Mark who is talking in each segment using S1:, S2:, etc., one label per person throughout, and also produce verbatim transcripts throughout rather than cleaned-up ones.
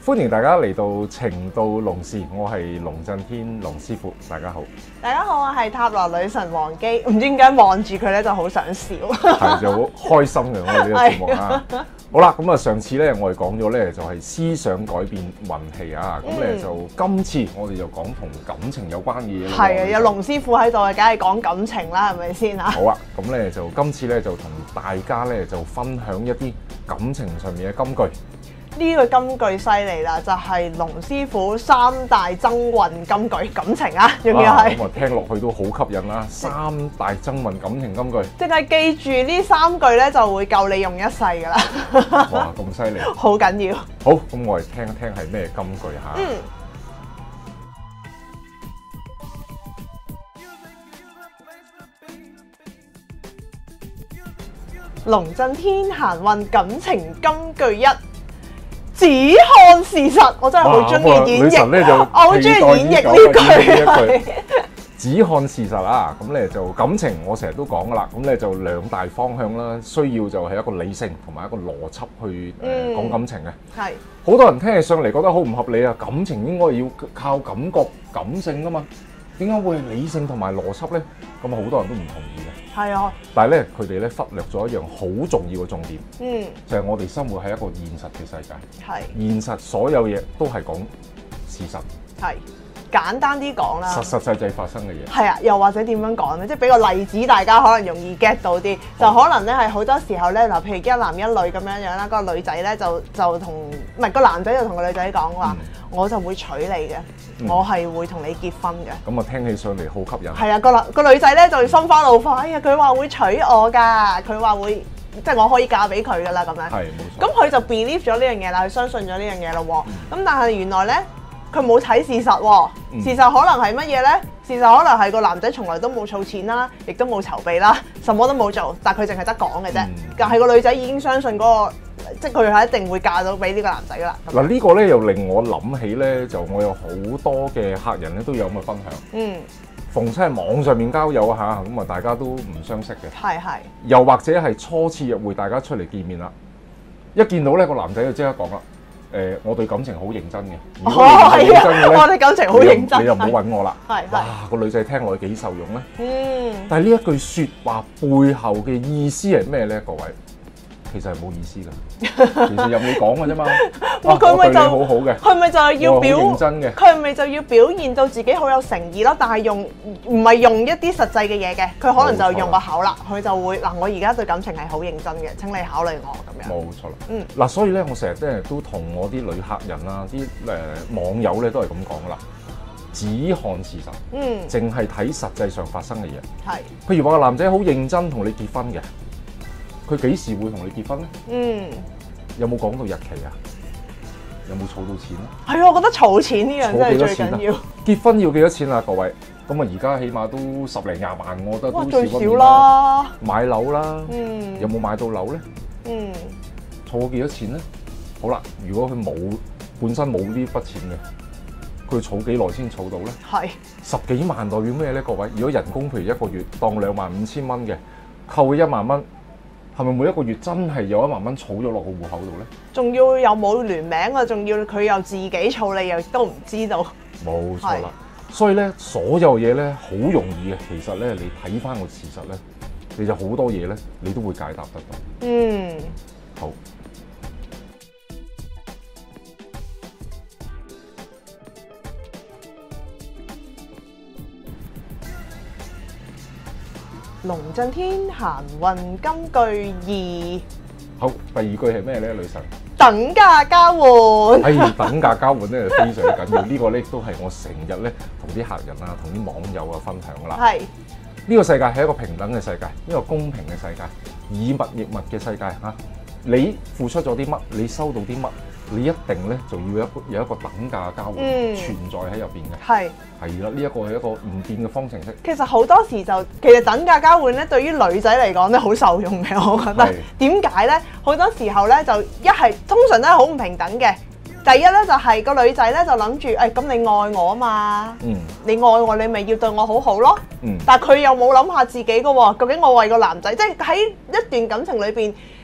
S1: 歡迎大家嚟到情到濃時，我係龍震天龍師傅，大家好。
S2: 大家好，我係塔羅女神王姬，唔知點解望住佢咧就好想笑，
S1: 係就好開心嘅我哋呢個節目啊。好啦，咁啊上次咧我哋講咗咧就係思想改變運氣啊，咁咧、嗯、就今次我哋就講同感情有關嘅嘢。
S2: 係啊，有龍師傅喺度，梗係講感情啦，係咪先啊？
S1: 好啊，咁咧就今次咧就同大家咧就分享一啲感情上面嘅金句。
S2: 呢個金句犀利啦，就係龍師傅三大增運金句感情啊，仲要係
S1: 咁啊聽落去都好吸引啦！三大增運感情金句，
S2: 淨係記住呢三句咧，就會夠你用一世噶啦！
S1: 哇，咁犀利！
S2: 好緊要。
S1: 好，咁我哋聽一聽係咩金句嚇？嗯。
S2: 龍震天行運感情金句一。只看事實，我真係好中意演繹，我好中意演繹呢句。
S1: 只看事實啊，咁咧就感情，我成日都講噶啦，咁咧就兩大方向啦，需要就係一個理性同埋一個邏輯去誒、嗯、講感情嘅。係好多人聽起上嚟覺得好唔合理啊！感情應該要靠感覺、感性噶嘛，點解會理性同埋邏輯咧？咁啊，好多人都唔同意嘅。係啊，但係咧，佢哋咧忽略咗一樣好重要嘅重點，嗯，就係我哋生活喺一個現實嘅世界，係現實所有嘢都係講事實，係簡單啲講啦，實實際際發生嘅嘢，係啊，又或者點樣講咧？即係俾個例子，大家可能容易 get 到啲，就可能咧係好多時候咧，嗱，譬如一男一女咁樣樣啦，個女仔咧就就同唔係個男仔就同個女仔講話，我就會娶你嘅。我係會同你結婚嘅，咁啊聽起上嚟好吸引。係啊，個男個女仔咧就心花怒放，哎呀佢話會娶我㗎，佢話會即係我可以嫁俾佢㗎啦咁樣。係冇錯。咁佢就 believe 咗呢樣嘢啦，佢相信咗呢樣嘢咯喎。咁、嗯、但係原來咧佢冇睇事實喎，嗯、事實可能係乜嘢咧？事實可能係個男仔從來都冇儲錢啦，亦都冇籌備啦，什麼都冇做，但係佢淨係得講嘅啫。嗯、但係個女仔已經相信嗰、嗰個。即係佢係一定會嫁到俾呢個男仔噶啦。嗱呢個咧又令我諗起咧，就我有好多嘅客人咧都有咁嘅分享。嗯，逢親係網上面交友嚇，咁啊大家都唔相識嘅。係係。又或者係初次約會，大家出嚟見面啦，一見到咧個男仔就即刻講啦。誒、呃，我對感情好認真嘅。如果你係認真嘅咧，我對感情好認真，你就唔好揾我啦。係哇，個女仔聽落去幾受用咧。嗯。但係呢一句説話背後嘅意思係咩咧？各位？其實係冇意思㗎，其實任你講嘅啫嘛。哇，佢咪就好好嘅，佢咪就係要表認真嘅，佢咪就要表現到自己好有誠意咯。但係用唔係用一啲實際嘅嘢嘅，佢可能就用個口啦，佢就會嗱，我而家對感情係好認真嘅，請你考慮我咁樣。冇錯啦，嗯，嗱，所以咧，我成日咧都同我啲女客人啊，啲誒網友咧都係咁講㗎啦，只看事實，嗯，淨係睇實際上發生嘅嘢。係，譬如話個男仔好認真同你結婚嘅。佢幾時會同你結婚咧？嗯，有冇講到日期啊？有冇儲到錢咧？係啊，我覺得儲錢呢樣真係最緊要。結婚要幾多錢啊？各位，咁啊而家起碼都十零廿萬，我覺得都少不免啦。買樓啦，嗯，有冇買到樓咧？嗯，儲咗幾多錢咧？好啦，如果佢冇本身冇呢筆錢嘅，佢儲幾耐先儲到咧？係十幾萬代表咩咧？各位，如果人工譬如一個月當兩萬五千蚊嘅，扣一萬蚊。係咪每一個月真係有一萬蚊儲咗落個戶口度咧？仲要又冇聯名啊！仲要佢又自己儲，你又都唔知道。冇錯啦，所以咧，所有嘢咧好容易嘅。其實咧，你睇翻個事實咧，你就好多嘢咧，你都會解答得到。嗯，好。龍震天行運金句二，好，第二句係咩咧？女神，等價交換。哎，等價交換咧就非常之緊要，呢個咧都係我成日咧同啲客人啊、同啲網友啊分享噶啦。係，呢個世界係一個平等嘅世界，一個公平嘅世界，以物易物嘅世界嚇。你付出咗啲乜，你收到啲乜，你一定咧就要有一個有一個等價交換、嗯、存在喺入邊嘅。係係啦，呢一個係一個唔變嘅方程式。其實好多時就其實等價交換咧，對於女仔嚟講咧好受用嘅，我覺得。點解咧？好多時候咧就一係通常都係好唔平等嘅。第一咧就係、是、個女仔咧就諗住，誒、哎、咁你愛我啊嘛，嗯，你愛我你咪要對我好好咯。嗯，但係佢又冇諗下自己嘅喎，究竟我為個男仔，即係喺一段感情裏邊。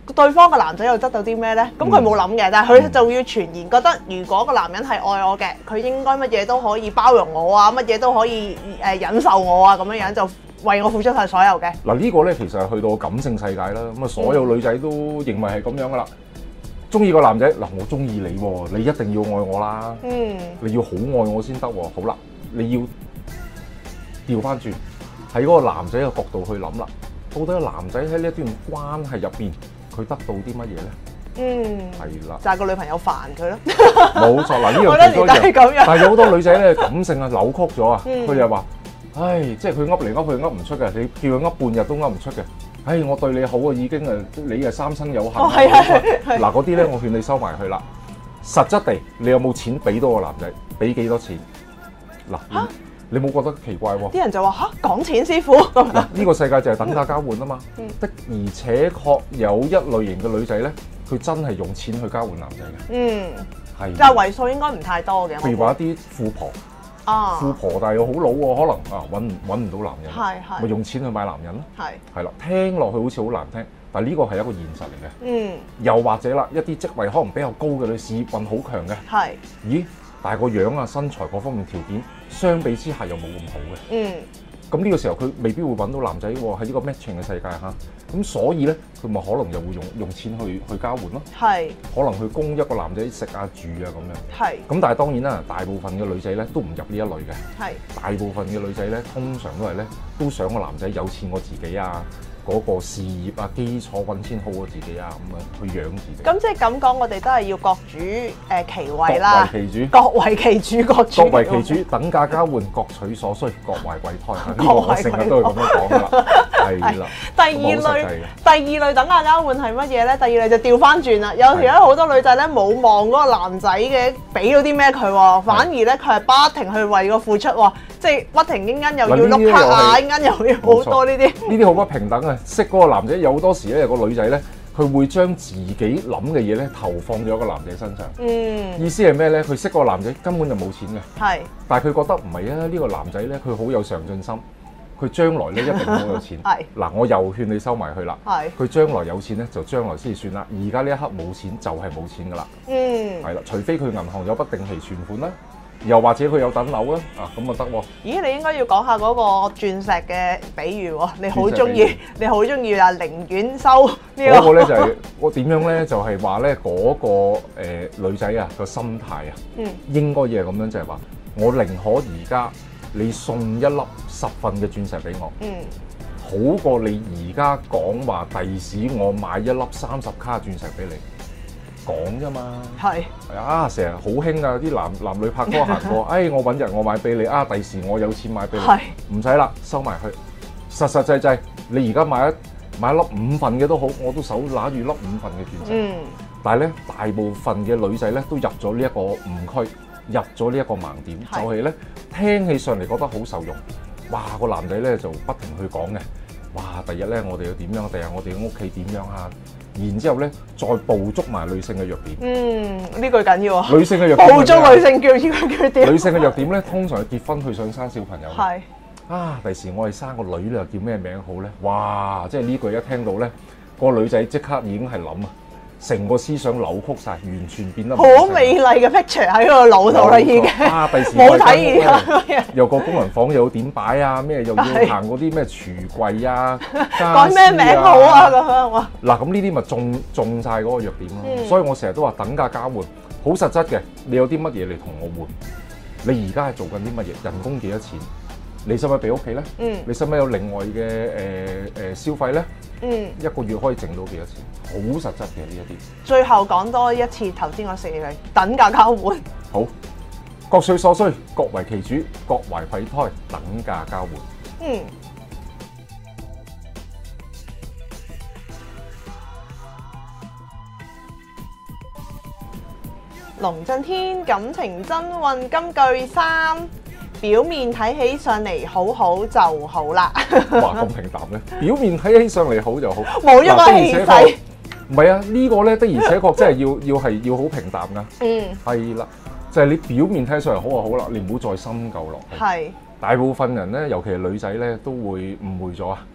S2: 對方個男仔又得到啲咩咧？咁佢冇諗嘅，但係佢就要傳言覺得，如果個男人係愛我嘅，佢應該乜嘢都可以包容我啊，乜嘢都可以誒忍受我啊，咁樣樣就為我付出晒所有嘅。
S1: 嗱呢個咧其實係去到感性世界啦，咁啊所有女仔都認為係咁樣噶啦。中意個男仔嗱，我中意你喎，你一定要愛我啦，嗯，你要好愛我先得喎。好啦，你要調翻轉喺嗰個男仔嘅角度去諗啦，到底個男仔喺呢一段關係入邊，佢得到啲乜嘢咧？嗯，係啦，
S2: 就係個女朋友煩佢咯。
S1: 冇錯，嗱呢樣其中一樣，但係有好多女仔咧感性啊扭曲咗啊，佢就話：唉，即係佢噏嚟噏去噏唔出嘅，你叫佢噏半日都噏唔出嘅。唉，我對你好啊，已經誒，你係三生有幸。哦，係係係。嗱嗰啲咧，我勸你收埋去啦。實質地，你有冇錢俾到個男仔？俾幾多錢？嗱，你冇覺得奇怪喎？啲
S2: 人就話嚇講錢師傅。嗱，
S1: 呢個世界就係等價交換啊嘛。的而且確有一類型嘅女仔咧，佢真係用錢去交換男仔嘅。嗯，係。但係為數應該唔太多嘅。譬如話一啲富婆。啊！富婆但係又好老喎，可能啊揾揾唔到男人，係係咪用錢去買男人咯？係係啦，聽落去好似好難聽，但係呢個係一個現實嚟嘅。嗯，又或者啦，一啲職位可能比較高嘅女，事業運好強嘅，係咦，但係個樣啊、身材各方面條件相比之下又冇咁好嘅。嗯。咁呢個時候佢未必會揾到男仔喎，喺呢個 matching 嘅世界嚇，咁所以咧佢咪可能又會用用錢去去交換咯，係可能去供一個男仔食啊住啊咁樣，係咁但係當然啦，大部分嘅女仔咧都唔入呢一類嘅，係大部分嘅女仔咧通常都係咧都想個男仔有錢過自己啊。嗰個事業啊，基礎揾錢好過自己啊，咁樣去養自己。咁即係咁講，我哋都係要各主誒其位啦。各為其主，各為其主，各主。各為其主，等價交換，各取所需，各懷鬼胎。呢個我成日都係咁樣講噶啦，係啦。第二類，第二類等價交換係乜嘢咧？第二類就調翻轉啦。有時咧好多女仔咧冇望嗰個男仔嘅俾到啲咩佢喎，反而咧佢係不停去為個付出喎，即係不停間間又要碌卡啊，間間又要好多呢啲。呢啲好不平等啊！識嗰個男仔有好多時咧，有個女仔咧，佢會將自己諗嘅嘢咧投放咗個男仔身上。嗯，意思係咩咧？佢識嗰個男仔根本就冇錢嘅，係，但係佢覺得唔係啊！呢個男仔咧，佢好有上進心，佢將來咧一定好有錢。係，嗱，我又勸你收埋去啦。係，佢將來有錢咧，就將來先算啦。而家呢一刻冇錢就係冇錢噶啦。嗯，係啦，除非佢銀行有筆定期存款啦。又或者佢有等樓啦，啊咁啊得喎！咦，你應該要講下嗰個鑽石嘅比喻喎，你好中意，你好中意啊寧願收呢個。嗰個咧就係、是、我點樣咧，就係話咧嗰個誒、呃、女仔啊個心態啊，嗯，應該要係咁樣，就係話我寧可而家你送一粒十份嘅鑽石俾我，嗯，好過你而家講話第時我買一粒三十卡鑽石俾你。講啫嘛，係係啊，成日好興啊！啲男男女拍拖行過，哎，我揾日我買俾你啊，第時我有錢買俾你，唔使啦，收埋去，實實際際，你而家買一買一粒五份嘅都好，我都手拿住粒五份嘅鑽石。嗯，但係咧，大部分嘅女仔咧都入咗呢一個誤區，入咗呢一個盲點，就係咧聽起上嚟覺得好受用，哇！個男仔咧就不停去講嘅，哇！第日咧我哋要點樣？第日我哋嘅屋企點樣啊？然之後咧，再捕捉埋女性嘅弱點。嗯，呢句緊要啊！女性嘅弱點，捕捉女性叫缺點。女性嘅弱點咧，通常係結婚去想生小朋友。係啊，第時我哋生個女咧，叫咩名好咧？哇！即係呢句一聽到咧，個女仔即刻已經係諗啊，成個思想扭曲晒，完全變得好美麗嘅 picture 喺個腦度啦，已經。啊！第時冇睇而家。有個工人房又點擺啊？咩又要行嗰啲咩櫥櫃啊？改咩名好啊？咁樣哇！嗱，咁呢啲咪中中曬嗰個弱點咯。嗯、所以我成日都話等價交換，好實質嘅。你有啲乜嘢嚟同我換？你而家係做緊啲乜嘢？人工幾多錢？你使唔使俾屋企咧？嗯。你使唔使有另外嘅誒誒消費咧？嗯。一個月可以剩到幾多錢？好實質嘅呢一啲。最後講多一次頭先我四句等價交換。好，各取所需，各為其主，各懷鬼胎，等價交換。嗯。龍震天感情真運金句三。表面睇起上嚟好好就好啦。哇，咁平淡嘅。表面睇起上嚟好就好，冇一個氣勢。唔係啊，呢個咧的而且確真係要要係要好平淡噶。嗯，係啦，就係你表面睇上嚟好就好啦，你唔好再深究落去。係。大部分人咧，尤其係女仔咧，都會誤會咗啊。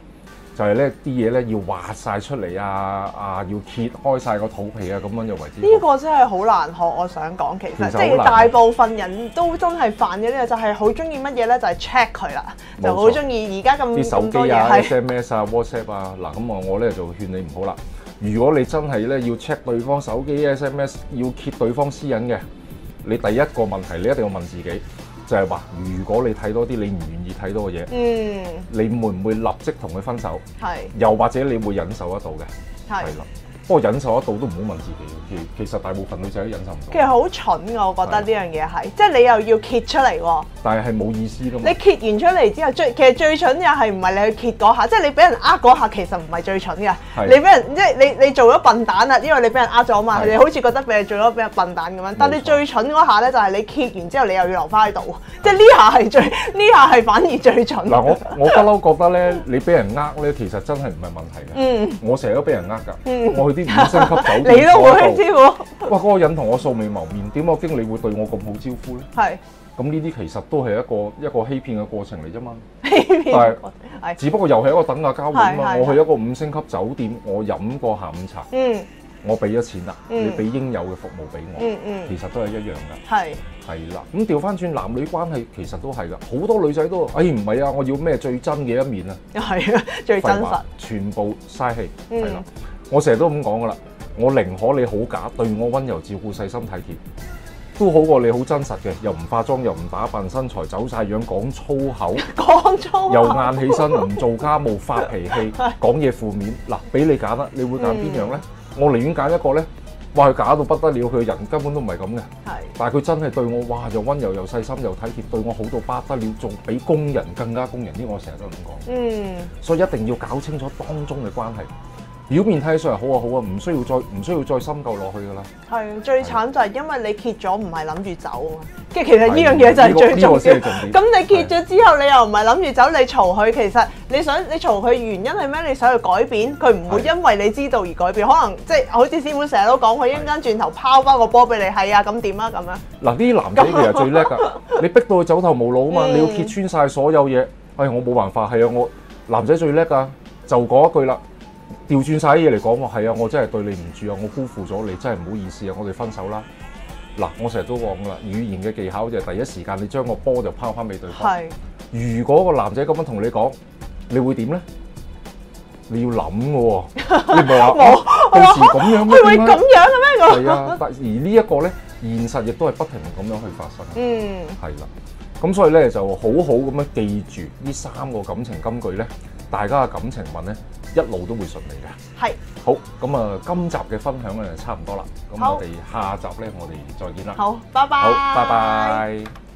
S1: 就係咧啲嘢咧要挖晒出嚟啊啊，要揭開晒個肚皮啊，咁樣就為之。
S2: 呢個真係好難學，我想講其實，其實即係大部分人都真係犯嘅呢個，就係好中意乜嘢咧，就係 check 佢啦，就好中意而家咁
S1: 啲手機啊、S M S 啊、WhatsApp 啊，嗱咁啊，我咧就勸你唔好啦。如果你真係咧要 check 對方手機 S M S， 要揭對方私隱嘅，你第一個問題你一定要問自己。就係話，如果你睇多啲你唔願意睇到嘅嘢，嗯，你會唔會立即同佢分手？係，又或者你會忍受得到嘅？係啦。不過忍受得到都唔好問自己，其其實大部分女仔都忍受唔到。其實好蠢㗎，我覺得呢樣嘢係，即係你又要揭出嚟喎。但係係冇意思㗎嘛。你揭完出嚟之後，最其實最蠢嘅係唔係你去揭嗰下，即係你俾人呃嗰下，其實唔係最蠢嘅。你俾人即係你你做咗笨蛋啦，因為你俾人呃咗嘛，你好似覺得俾你做咗俾人笨蛋咁樣。但係你最蠢嗰下咧，就係你揭完之後，你又要留翻喺度，即係呢下係最呢下係反而最蠢。嗱，我我不嬲覺得咧，你俾人呃咧，其實真係唔係問題嘅。嗯。我成日都俾人呃㗎。嗯。我去啲五星級酒店，你都會師傅。哇！嗰個人同我素未謀面，點解經理會對我咁好招呼咧？係。咁呢啲其實都係一個一個欺騙嘅過程嚟啫嘛。欺騙。但係，只不過又係一個等價交換嘛。我去一個五星級酒店，我飲個下午茶。嗯。我俾咗錢啦，你俾應有嘅服務俾我。嗯嗯。其實都係一樣㗎。係。係啦。咁調翻轉男女關係，其實都係㗎。好多女仔都，哎唔係啊，我要咩最真嘅一面啊？係啊，最真實。全部嘥氣。係啦。我成日都咁講噶啦，我寧可你好假，對我溫柔照顧、細心體貼，都好過你好真實嘅，又唔化妝，又唔打扮，身材走晒樣，講粗口，講粗口，又晏起身，唔做家務，發脾氣，講嘢負面。嗱，俾你揀啦，你會揀邊樣咧？嗯、我寧願揀一個咧，哇佢假到不得了，佢人根本都唔係咁嘅，係，但係佢真係對我，哇又溫柔又細心又體貼，對我好到不得了，仲比工人更加工人。呢個我成日都咁講，嗯，所以一定要搞清楚當中嘅關係。表面睇上嚟好啊好啊，唔需要再唔需要再深究落去噶啦。係最慘就係因為你揭咗，唔係諗住走啊嘛。即係其實呢樣嘢就係最重要。咁你揭咗之後，你又唔係諗住走，你嘈佢，其實你想你嘈佢原因係咩？你想去改變，佢唔會因為你知道而改變。可能即係好似師傅成日都講，佢一陣間轉頭拋翻個波俾你，係啊咁點啊咁樣。嗱，呢啲男仔其實最叻㗎，你逼到佢走投無路啊嘛，你要揭穿晒所有嘢。哎，我冇辦法，係啊，我男仔最叻㗎，就講一句啦。調轉晒啲嘢嚟講，我係啊，我真係對你唔住啊，我辜負咗你，真係唔好意思啊，我哋分手啦。嗱，我成日都講噶啦，語言嘅技巧就係第一時間你將個波就拋翻俾對方。係。如果個男仔咁樣同你講，你會點咧？你要諗嘅喎，你唔係話到時咁樣咩？會咁樣嘅咩？係啊，但而呢一個咧，現實亦都係不停咁樣去發生。嗯。係啦，咁所以咧就好好咁樣記住呢三個感情金句咧，大家嘅感情運咧。一路都會順利嘅。係。好，咁啊，今集嘅分享咧就差唔多啦。咁我哋下集咧，我哋再見啦。好，拜拜。好，拜拜。